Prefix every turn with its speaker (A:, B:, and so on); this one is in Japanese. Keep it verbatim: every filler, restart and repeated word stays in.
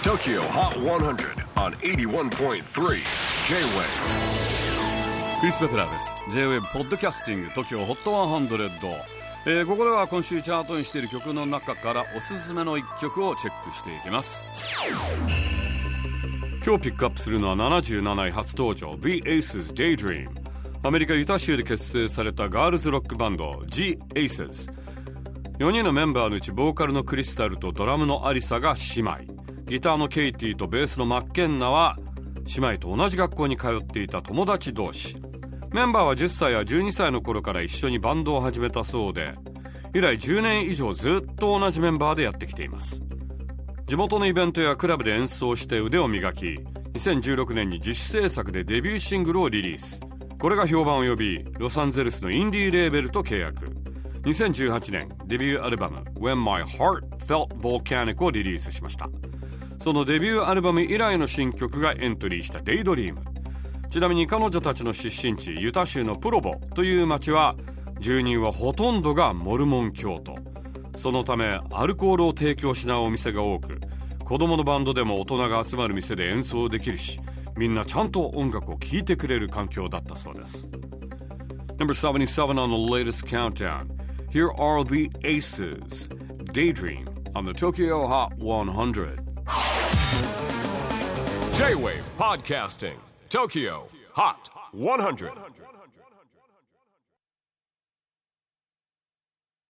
A: Tokyo Hot one hundred on エイティワンポイントスリー J-Wave。
B: クリス・ベプラーです。 J-Wave ポッドキャスティング Tokyo Hot ワンハンドレッド、えー、ここでは今週チャートにしている曲の中からおすすめのいっきょくをチェックしていきます。今日ピックアップするのはななじゅうなない初登場 The Aces Daydream。 アメリカユタ州で結成されたガールズロックバンド The Aces。 よにんのメンバーのうちボーカルのクリスタルとドラムのアリサが姉妹、ギターのケイティとベースのマッケンナは姉妹と同じ学校に通っていた友達同士。メンバーはじゅっさいやじゅうにさいの頃から一緒にバンドを始めたそうで、以来じゅうねん以上ずっと同じメンバーでやってきています。地元のイベントやクラブで演奏して腕を磨き、にせんじゅうろくねんに自主制作でデビューシングルをリリース。これが評判を呼び、ロサンゼルスのインディーレーベルと契約。にせんじゅうはちねんデビューアルバム When My Heart Felt Volcanic をリリースしました。そのデビューアルバム以来の新曲がエントリーしたデイドリーム。ちなみに彼女たちの出身地ユタ州のプロボという町は、住人はほとんどがモルモン教徒。そのためアルコールを提供しないお店が多く、子供のバンドでも大人が集まる店で演奏できるし、みんなちゃんと音楽を聴いてくれる環境だったそうです。 Number seventy-seven on the latest countdown. Here are the Aces Daydream on the Tokyo Hot one hundred。
A: J-Wave Podcasting Tokyo Hot one hundred。